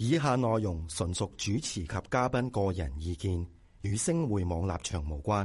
以下內容純屬主持及嘉賓個人意見，與星匯網立場無關。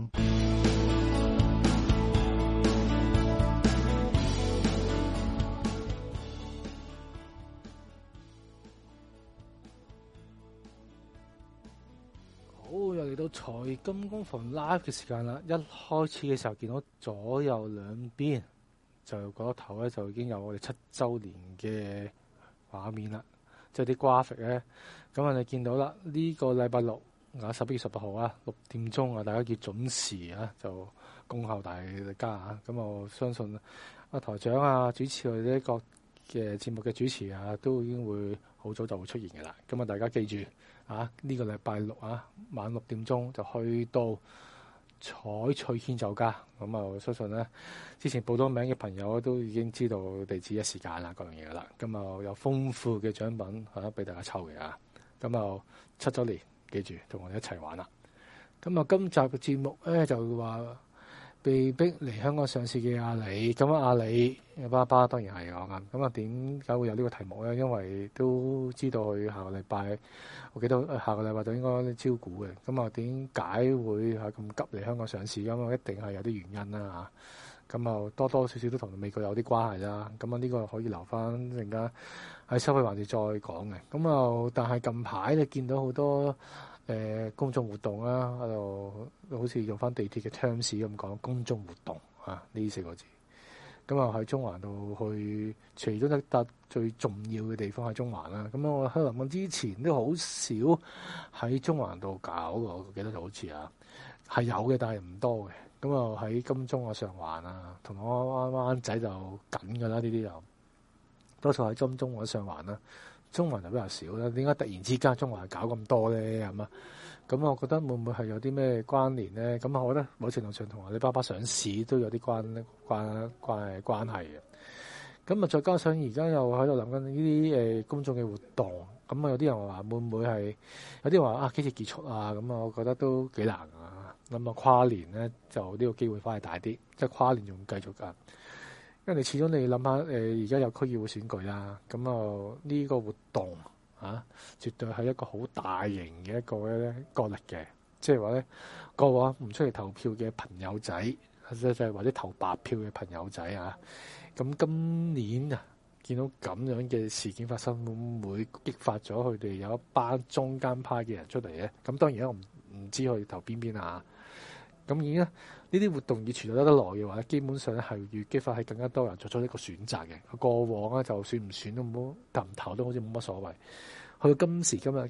好，又嚟到財金工房 live 嘅時間啦！一開始嘅時候見到左右兩邊就嗰個頭咧，就已經有我哋7週年嘅畫面啦，即係啲 graphic 咧。咁啊，你見到啦，呢個禮拜六11月18號啊，6點鐘啊，大家要準時啊，就恭候大家啊。咁我相信啊，台長啊，主持我哋呢個嘅節目嘅主持啊，都已經會好早就會出現嘅啦。咁啊，大家記住啊，呢個禮拜六啊，晚6點鐘就去到彩翠軒酒家。咁啊，我相信咧，之前報咗名嘅朋友都已經知道地址、時間啦，各樣嘢噶啦。咁啊，有豐富嘅獎品俾大家抽嘅啊。咁啊，7週年，記住同我哋一齊玩啦。咁啊，今集嘅節目咧就話被逼嚟香港上市嘅阿里。咁啊，阿里嘅爸爸當然係我啱。咁啊，點解會有呢個題目咧？因為都知道佢下個禮拜，我記得下個禮拜就應該招股嘅。咁啊，點解會咁急嚟香港上市？咁啊，一定係有啲原因啦嚇。咁啊，多多少少都同美國有啲關係啦。咁啊，呢個可以留翻陣間喺收費環節再講嘅。咁啊，但係近排你見到好多公眾活動啦，喺度好似用翻地鐵嘅 terms 咁講公眾活動呢4個字。咁啊，喺中環度去，除咗一笪最重要嘅地方喺中環啦。咁我喺臨之前都好少喺中環度搞嘅，我記得就好似係有嘅，但係唔多嘅。咁啊，喺金鐘上環啊，銅鑼灣仔就緊㗎啦，呢啲就多數喺金鐘上環啦。中環就比較少啦。點解突然之間中環搞咁多咧？係嘛？咁我覺得會唔會係有啲咩關聯咧？咁我覺得某程度上同阿里巴巴上市都有啲關係嘅。咁啊，再加上而家又喺度諗緊呢啲公眾嘅活動。咁啊，有啲人話會唔會係有啲話幾時結束啊？咁啊，我覺得都幾難啊。咁啊，跨年咧就呢個機會反而大啲，即係跨年仲繼續㗎。因為你始終你諗下而家有區議會選舉啦，咁啊呢個活動絕對係一個好大型嘅一個咧角力嘅，即係話咧個話唔出嚟投票嘅朋友仔，即係或者投白票嘅朋友仔啊，咁今年見到咁樣嘅事件發生，會唔會激發咗佢哋有一班中間派嘅人出嚟咧？咁當然我唔知佢投邊啊。咁而家呢啲活動要存在得耐嘅話，基本上咧係要激發係更加多人作出一個選擇嘅。過往咧就選唔選都冇，投唔投都好似冇乜所謂。去到今時今日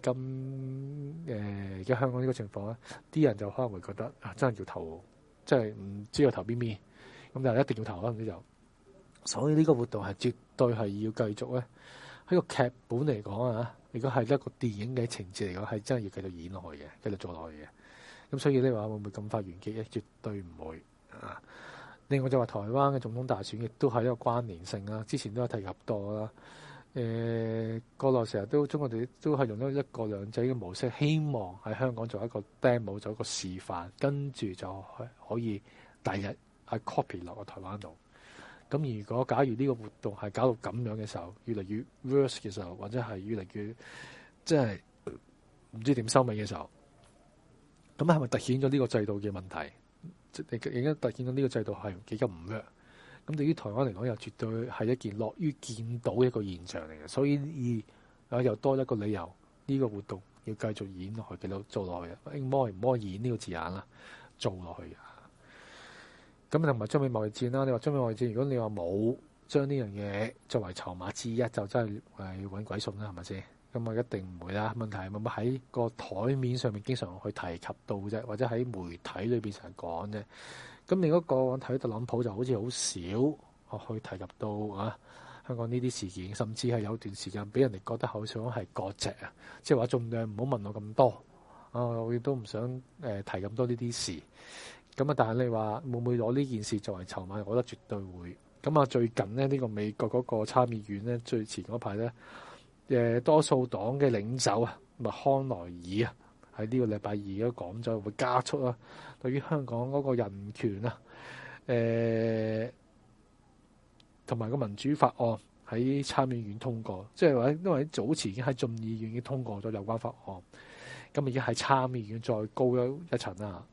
嘅而家香港呢個情況咧，啲人就可能會覺得真係要投，即係唔知要投邊。咁但係一定要投啦，唔知就。所以呢個活動係絕對係要繼續咧。喺個劇本嚟講如果係一個電影嘅情節嚟講，係真係要繼續演落去嘅，繼續做落去嘅。咁所以呢話會唔會咁快完結咧？絕對唔會啊！另外就話台灣嘅總統大選亦都係一個關聯性啦。之前都有提及過啦。國內成日都中國哋都係用咗一國兩制嘅模式，希望喺香港做一個 demo， 做一個示範，跟住就可以第日係 copy 落個台灣度。咁如果假如呢個活動係搞到咁樣嘅時候，越嚟越 worse 嘅時候，或者係越嚟越即係唔知點收尾嘅時候，咁係咪凸顯咗呢個制度嘅問題？而家凸顯咗呢個制度係幾咁唔 work？咁對於台灣嚟講，又絕對係一件樂於見到嘅一個現象嚟嘅。所以又多一個理由，呢個活動要繼續演落去，繼續做落去嘅。唔可以演呢個字眼啦，做落去。咁同埋中美貿易戰啦，你話中美貿易戰，如果你話冇將呢樣嘢作為籌碼之一，就真係要揾鬼信啦，係咪先？咁啊，一定唔會啦。問題係咪喺個台面上面經常去提及到啫，或者喺媒體裏邊成日講啫。咁你嗰個睇特朗普就好似好少去提及到香港呢啲事件，甚至係有段時間俾人哋覺得好想係割席即係話盡量唔好問我咁多我亦都唔想提咁多呢啲事。咁但係你話會唔會攞呢件事作為籌碼？我覺得絕對會。咁啊，最近呢個美國嗰個參議院呢，最前嗰排呢，多數黨嘅領袖麥康奈爾喺呢個禮拜二都講咗會加速對於香港嗰個人權同埋個民主法案喺參議院通過，即係話因為早前已經喺眾議院已經通過咗有關法案，咁已經喺參議院再高一層啦。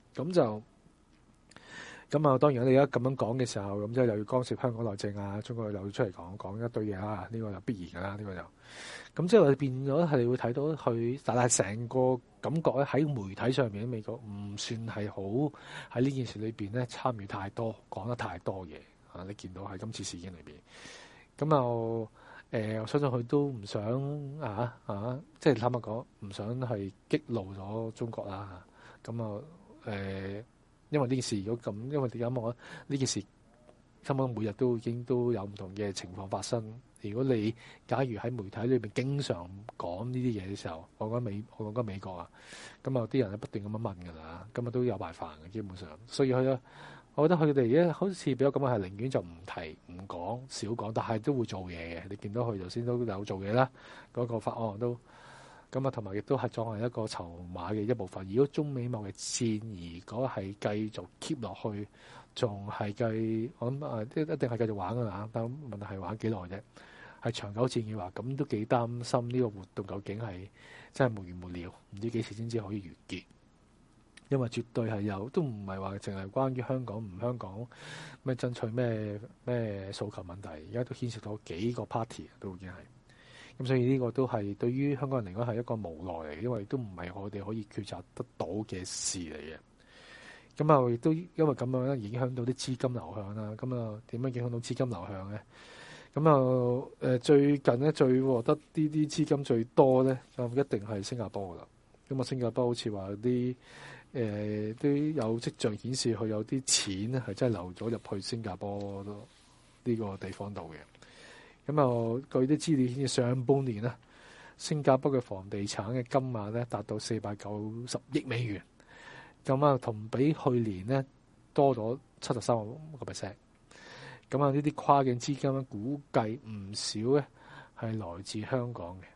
咁啊，當然你而家咁樣講嘅時候，咁即係又要干涉香港內政啊，中國又要出嚟講一堆嘢啦，呢個就必然㗎啦，呢個就咁即係話變咗係會睇到佢，但係成個感覺咧喺媒體上面，美國唔算係好喺呢件事裏邊咧參與太多，講得太多嘢啊！你見到喺今次事件裏邊，咁我相信佢都唔想即係坦白講，唔想係激怒咗中國啦。咁因為呢件事如果咁，因為點解我呢件事根本每日都已經都有唔同嘅情況發生。如果你假如喺媒體裏邊經常講呢啲嘢嘅時候，我講緊美國啊，咁啊啲人咧不斷咁樣問㗎啦，咁啊都有埋煩嘅基本上。所以我覺得佢哋而家好似比較咁樣係寧願就唔提唔講少講，但係都會做嘢嘅。你見到佢頭先都有做嘢啦，嗰個法案都。咁啊，同埋亦都係作為一個籌碼嘅一部分。如果中美貿易戰如果係繼續 keep 落去，仲係我諗一定係繼續玩㗎啦。但問題係玩幾耐啫？係長久戰嘅話，咁都幾擔心呢個活動究竟係真係無完無了，唔知幾時先至可以完結。因為絕對係都唔係話淨係關於香港唔香港咩爭取咩訴求問題，而家都牽涉到幾個 party 都已經係。咁所以呢個都係對於香港人嚟講係一個無奈嚟嘅，因為都唔係我哋可以抉擇得到嘅事嚟嘅。咁啊，亦都因為咁樣咧，影響到啲資金流向啦。咁啊，點樣影響到資金流向咧？咁最近咧最獲得啲資金最多咧，就一定係新加坡噶啦。咁啊，新加坡好似話啲都有跡象顯示佢有啲錢咧係真係流咗入去新加坡呢個地方度嘅。咁據啲資料顯示，上半年咧，新加坡嘅房地產嘅金額咧達到490億美元，咁啊同比去年咧多咗73%。咁啊呢啲跨境資金咧，估計唔少咧係來自香港嘅。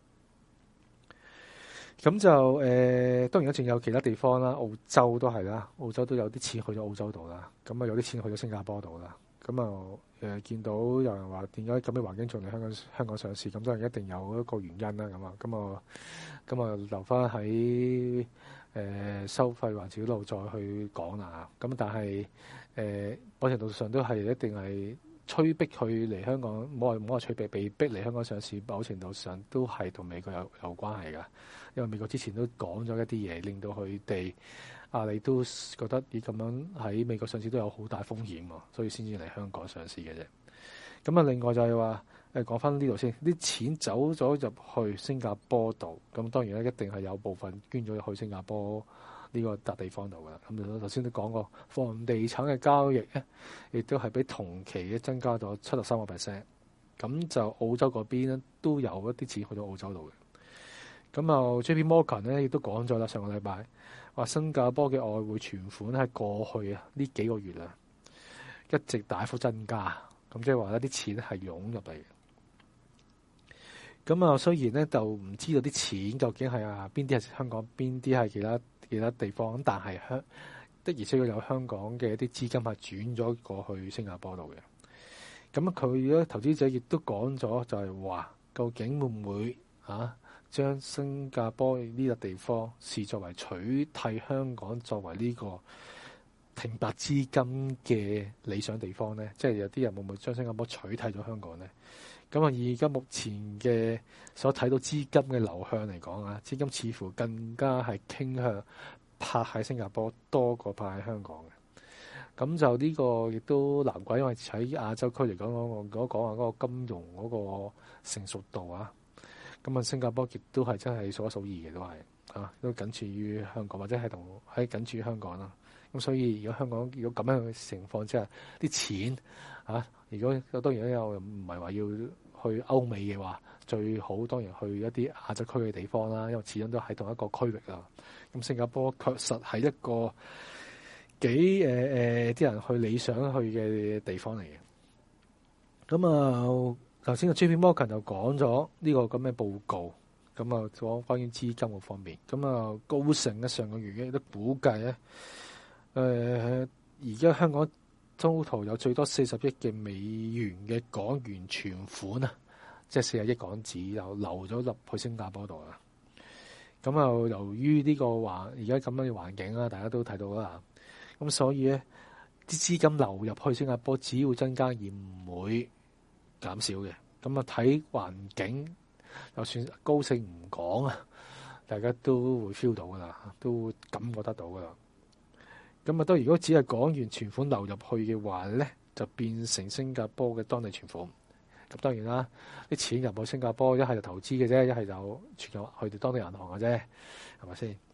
咁就當然仲有其他地方啦，澳洲都係啦，澳洲都有啲錢去咗澳洲度啦，咁啊有啲錢去咗新加坡度啦。咁見到有人話點解咁嘅環境仲嚟香港上市？咁當然一定有一個原因啦。咁啊留翻喺收費環節嗰度再去講啦。咁但係某程度上都係一定係催逼佢嚟香港，唔好話催逼，被逼嚟香港上市。某程度上都係同美國有關係㗎，因為美國之前都講咗一啲嘢，令到佢哋。你都覺得咁樣喺美國上市都有好大風險喎，所以先至嚟香港上市嘅啫。咁啊，另外就係話講翻呢度先，啲錢走咗入去新加坡度，咁當然咧一定係有部分捐咗去新加坡呢個笪地方度㗎啦。咁頭先都講過，房地產嘅交易咧，亦都係比同期嘅增加咗73%。咁就澳洲嗰邊咧都有一啲錢去咗澳洲度嘅。咁JP Morgan 咧亦都講咗啦，上個禮拜。話新加坡嘅外匯存款喺過去呢幾個月一直大幅增加，咁即係話啲錢係湧入嚟嘅。咁雖然咧就唔知道啲錢究竟係邊啲係香港，邊啲係其他地方，但係的而且確有香港嘅一啲資金係轉咗過去新加坡度嘅。咁佢咧投資者亦都講咗，就係話究竟會唔會將新加坡呢個地方視作為取替香港作為呢個停泊資金嘅理想地方呢？即係有啲人會唔會將新加坡取替咗香港呢？咁而家目前嘅所睇到資金嘅流向嚟講資金似乎更加係傾向泊喺新加坡多過泊喺香港嘅。咁就呢個亦都難怪，因為喺亞洲區嚟講，我講話嗰個金融嗰個成熟度咁新加坡亦都係真係數一數二嘅，都係都僅次於香港，或者係僅次於香港啦。咁所以如果香港如果咁樣嘅情況之下，啲錢如果當然又唔係話要去歐美嘅話，最好當然去一啲亞洲區嘅地方啦，因為始終都喺同一個區域啦。咁新加坡確實係一個幾啲人去理想去嘅地方嚟嘅。咁頭先個 JP Morgan 就講咗呢個咁嘅報告，咁講關於資金嗰方面。高盛上個月亦都估計咧，而家香港 total 有最多40億嘅美元嘅港元存款啊，即係40億港紙又流咗入去新加坡度啦。咁又由於呢個而家咁樣嘅環境啦，大家都睇到啦。咁所以咧，啲資金流入去新加坡只會增加而唔會減少嘅。咁啊睇環境，就算高盛唔講啊，大家都會 feel 到噶啦，都會感覺得到噶啦。咁啊，如果只係港元存款流入去嘅話咧，就變成新加坡嘅當地存款。咁當然啦，啲錢入到新加坡，一係就投資嘅啫，一係就存入去哋當地銀行嘅啫，係咪先？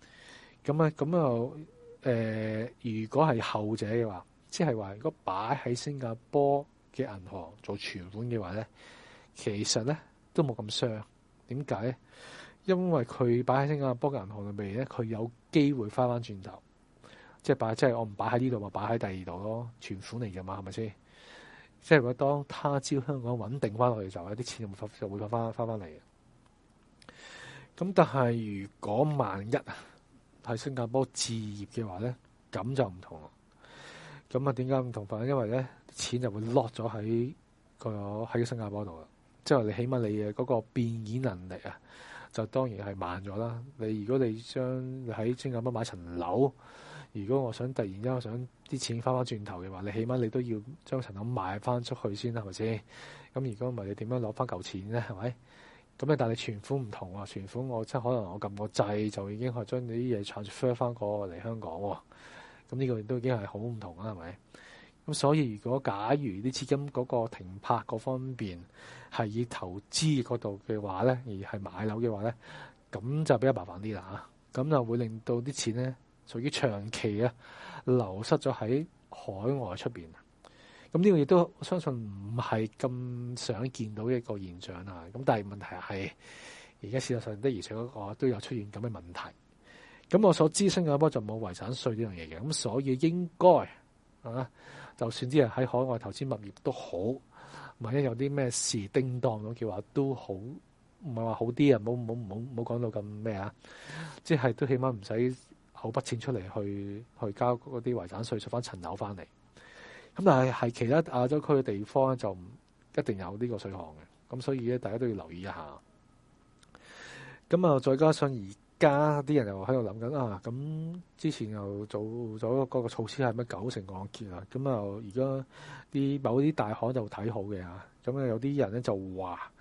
如果係後者嘅話，即係話如果擺喺新加坡嘅銀行做存款嘅話咧，其實咧都冇咁傷。點解咧？因為佢擺喺新加坡嘅銀行裏面咧，佢有機會翻翻轉頭，即係我唔擺喺呢度，咪擺喺第二度咯，存款嚟㗎嘛，係咪先？即係如果當他朝香港穩定翻落去嘅時候，啲錢就會翻翻嚟嘅。咁但係如果萬一喺新加坡置業嘅話咧，咁就唔同啦。咁啊點解唔同法？因為咧錢就會落咗喺新加坡度啦。即係你起碼你嘅嗰個變現能力啊，就當然係慢咗啦。如果你喺新加坡買層樓，如果我想突然間想啲錢翻轉頭嘅話，你起碼你都要將層樓賣翻出去先，係咪先？咁如果唔係，你點樣攞翻嚿錢咧？係咪？咁但係你存款唔同啊，存款我即係可能我撳個掣就已經係將你啲嘢 transfer 翻過嚟香港喎。咁呢個都已經係好唔同啦，係咪？咁所以如果假如啲資金嗰個停泊嗰方面係以投資嗰度嘅話咧，而係買樓嘅話咧，咁就比較麻煩啲啦嚇。咁就會令到啲錢咧屬於長期啊流失咗喺海外出邊。咁呢個亦都我相信唔係咁想見到嘅一個現象啊。咁但係問題係而家事實上的而且確都有出現咁嘅問題。咁我所知新加坡就冇遺產稅呢樣嘢嘅，咁所以應該就算啲人喺海外投資物業都好，萬一有啲咩事叮當咁嘅話都好，唔係話好啲啊，冇講到咁咩啊，即係都起碼唔使好筆錢出嚟去交嗰啲遺產稅，贖翻層樓翻嚟。咁但係其他亞洲區嘅地方咧就唔一定有呢個稅項嘅，咁所以咧大家都要留意一下。咁啊，再加上而家啲人又喺度諗緊啊，咁之前又做咗嗰個措施係咩90%按揭啊，咁啊而家某啲大行就睇好嘅啊，咁啊有啲人咧就話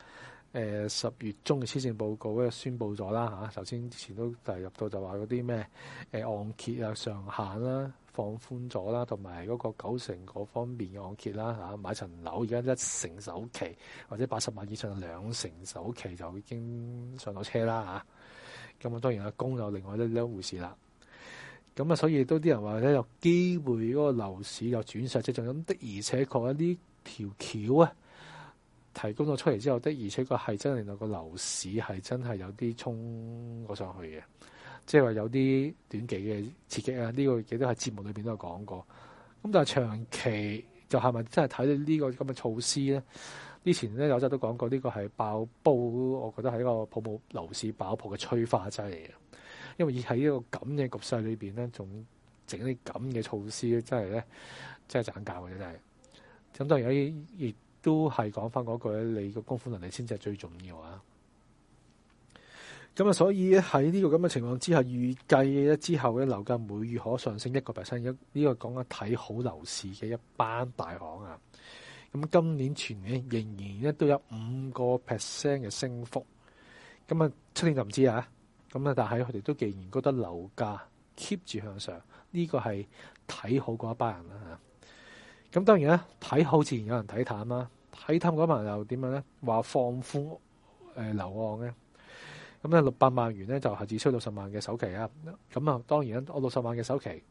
10月中嘅施政報告咧宣布咗啦嚇，首先之前都提入到就話嗰啲咩按揭啊上限啦放寬咗啦，同埋嗰個90%嗰方面嘅按揭啦嚇，買層樓而家1成首期或者80萬以上2成首期就已經上到車啦嚇，咁啊當然供有另外一回事啦。咁啊所以都啲人話咧有機會嗰個樓市有轉勢，即係仲有的而且確呢條橋啊提供咗出嚟之後，的而且確係真係令到個樓市係真係有啲衝過上去嘅，即係話有啲短期嘅刺激啊！呢個亦都喺節目裏邊都有講過。咁但係長期就係咪真係睇到呢個咁嘅措施咧？之前咧有陣都講過，呢個係爆煲，我覺得係一個泡沫樓市爆破嘅催化劑嚟嘅。因為喺呢個咁嘅局勢裏邊咧，仲整啲咁嘅措施咧，真係賺教嘅真係。咁當然亦都係講翻嗰句咧，你個供款能力先至係最重要啊！咁啊，所以喺呢個咁嘅情況之下，預計咧之後咧樓價每月可上升1%，呢個講緊睇好樓市嘅一班大行啊！咁今年全年仍然咧都有5%嘅升幅，咁啊出年就唔知啊！咁啊，但係佢哋都既然覺得樓價 keep 住向上，呢個係睇好嗰一班人啦嚇。咁當然啦，睇好自然有人睇淡啦。睇淡嗰班人又點樣咧？話放寬樓按咧，咁咧600萬元咧就係只需60萬嘅首期啊。咁啊，當然啦，我60萬嘅首期，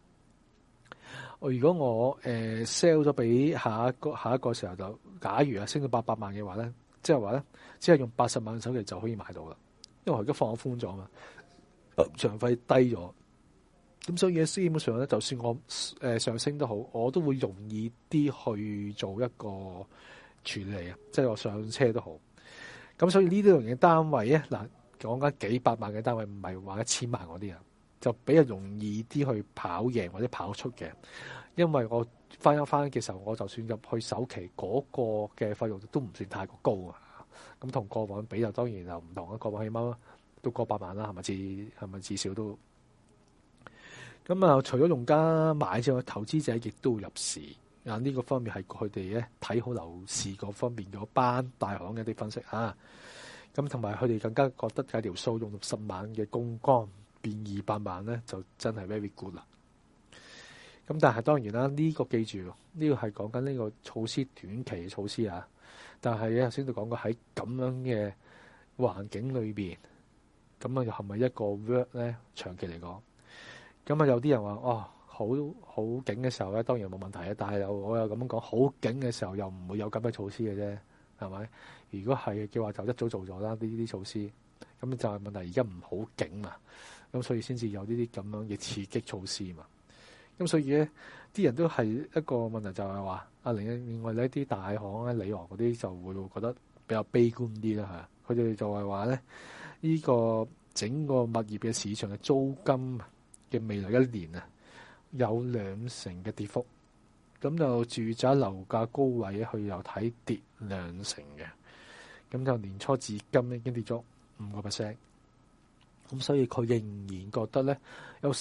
如果我sell 咗俾下一個時候，就假如升到800萬嘅話咧，即係話咧，只係用80萬嘅首期就可以買到啦。因為我而家放寬咗嘛，場費低咗。咁所以基本上咧，就算我上升都好，我都會容易啲去做一個處理啊，即係我上車都好。咁所以呢啲類型嘅單位咧，嗱講緊幾百萬嘅單位，唔係話1000萬嗰啲啊，就比較容易啲去跑贏或者跑出嘅， 因為我翻嘅時候，我就算入去首期嗰個嘅費用都唔算太過高啊。咁同過往比就當然就唔同啦。過往起碼都過百萬啦，係咪至少都咁啊？除咗用家買之外，投資者亦都入市啊。呢個方面係佢哋咧睇好樓市嗰方面嗰班大行嘅一啲分析啊。咁同埋佢哋更加覺得計條數用10萬嘅槓桿變200萬咧，就真係 very good 啦。咁但係當然啦，呢個記住，呢個係講緊呢個措施短期嘅措施啊。但係咧頭先都講過喺咁樣嘅環境裏邊，咁啊又係咪一個 work 咧？長期嚟講，咁啊有啲人話哦，好勁嘅時候咧，當然冇問題啊。但係我又咁樣講，好勁嘅時候又唔會有咁嘅措施嘅啫，係咪？如果係嘅話，就一早做咗啦呢啲措施。咁就係問題，而家唔好勁嘛，咁所以先至有呢啲咁樣嘅刺激措施嘛。咁所以咧，啲人都係一個問題，就係話另外呢啲大行咧、里昂嗰啲就會覺得比較悲觀啲啦嚇。佢哋就係話咧，呢個整個物業嘅市場嘅租金嘅未來1年啊，有2成嘅跌幅。咁就住宅樓價高位佢又睇跌2成嘅。咁就年初至今已經跌咗5%。咁所以佢仍然覺得咧，有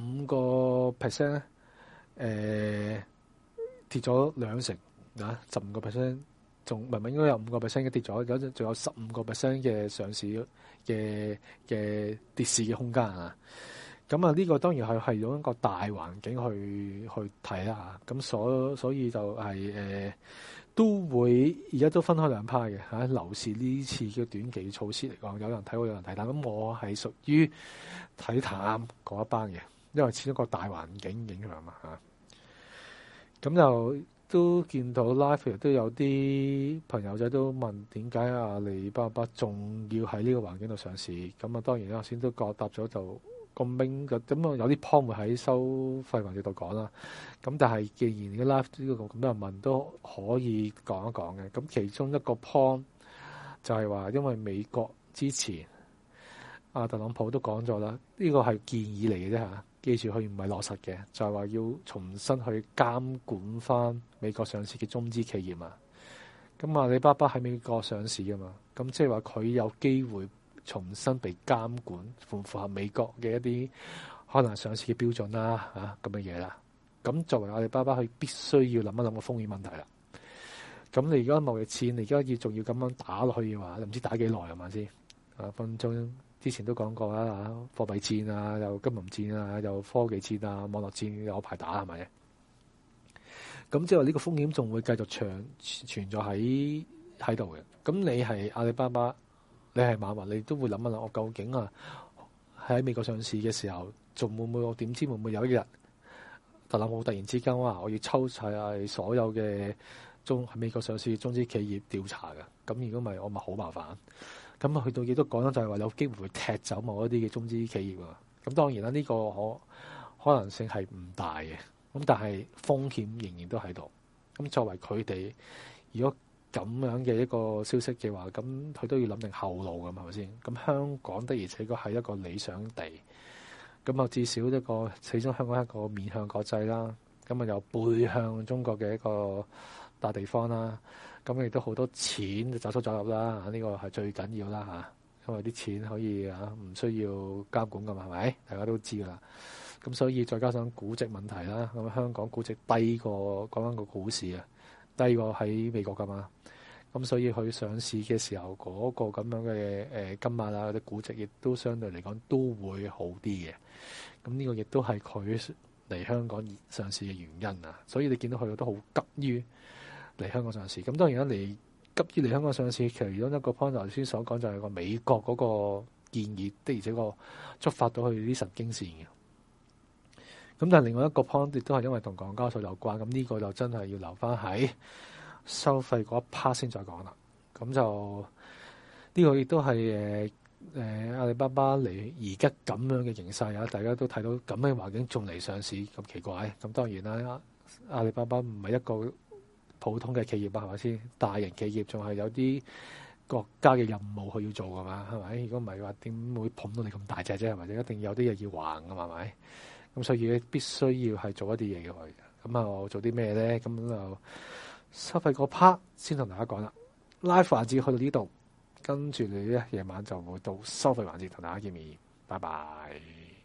15%咧，跌咗2成啊，15%仲明明應該有5% 嘅跌咗，仲有15% 嘅上市嘅跌市嘅空間啊！咁啊，呢個當然係用一個大環境去睇啦嚇。咁所以就係都會而家都分開兩派嘅嚇。樓市呢次嘅短期措施嚟講，有人睇好，有人睇淡。咁我係屬於睇淡嗰一班嘅，因為始終個大環境影響嘛嚇。咁就都見到 live 都有啲朋友仔都問點解阿里巴巴仲要喺呢個環境度上市？咁啊，當然啦，先都答咗就。咁明嘅，咁啊有啲 point 會喺收費環節度講啦。咁但係既然嘅 live 呢個咁多人問，都可以講一講嘅。咁其中一個 point 就係話，因為美國之前特朗普都講咗啦，呢個係建議嚟嘅啫嚇。記住佢唔係落實嘅，就係話要重新去監管翻美國上市嘅中資企業啊。咁阿里巴巴喺美國上市㗎嘛，咁即係話佢有機會重新被監管，符唔符合美國嘅一啲可能上市嘅標準啦，咁嘅嘢啦。咁作為阿里巴巴，佢必須要諗一諗個風險問題啦。咁你而家貿易戰，你而家仲要咁樣打落去嘅話，唔知打幾耐係咪先？分鐘之前都講過啦，貨幣戰啊，又金融戰啊，又科技戰啊，網絡戰有排打係咪？咁即係話呢個風險仲會繼續存在喺度嘅。咁你係阿里巴巴，你係馬雲，你都會諗一諗，我究竟喺美國上市嘅時候，仲會唔會？我點知會唔會有一日特朗普突然之間話我要抽曬所有嘅喺美國上市嘅中資企業調查嘅？咁如果唔係，我咪好麻煩。咁去到亦都講咗，就係話有機會會踢走某一啲嘅中資企業啊。咁當然啦，呢個可能性係唔大嘅。咁但係風險仍然都喺度。咁作為佢哋，如果咁樣嘅一個消息嘅話，咁佢都要諗定後路㗎嘛，係咪先？咁香港的而且確係一個理想地。咁啊，至少始終香港係一個面向國際啦。咁啊，又背向中國嘅一個大地方啦。咁亦都好多錢就走出走入啦。呢個係最緊要啦嚇，因為啲錢可以唔需要監管㗎嘛，係咪？大家都知㗎啦。咁所以再加上估值問題啦，咁香港估值低過講緊個股市啊，低過喺美國㗎嘛。咁所以佢上市嘅時候嗰個咁樣嘅金額啊，或者估值亦都相對嚟講都會好啲嘅。咁呢個亦都係佢嚟香港上市嘅原因啊。所以你見到佢都好急於嚟香港上市。咁當然啦，你急於嚟香港上市，其中一個 point 頭先所講就係個美國嗰個建議的，而且個觸發到佢啲神經線嘅。咁但係另外一個 point 亦都係因為同港交所有關。咁呢個就真係要留翻喺收費嗰一 part 先再講啦。咁就呢個亦都係阿里巴巴嚟而家咁樣嘅形勢啊，大家都睇到咁嘅環境仲嚟上市咁奇怪。咁當然啦，阿里巴巴唔係一個普通嘅企業啊，係咪先？大型企業仲係有啲國家嘅任務佢要做㗎嘛，係咪？如果唔係話點會捧到你咁大隻啫？係咪？一定有啲嘢要還㗎嘛，係咪？咁所以必須要係做一啲嘢嘅佢。 咁啊，我做啲咩咧？咁就收費嗰 part 先同大家講啦。Live 環節去到呢度，跟住你咧夜晚就會到收費環節同大家見面。拜拜。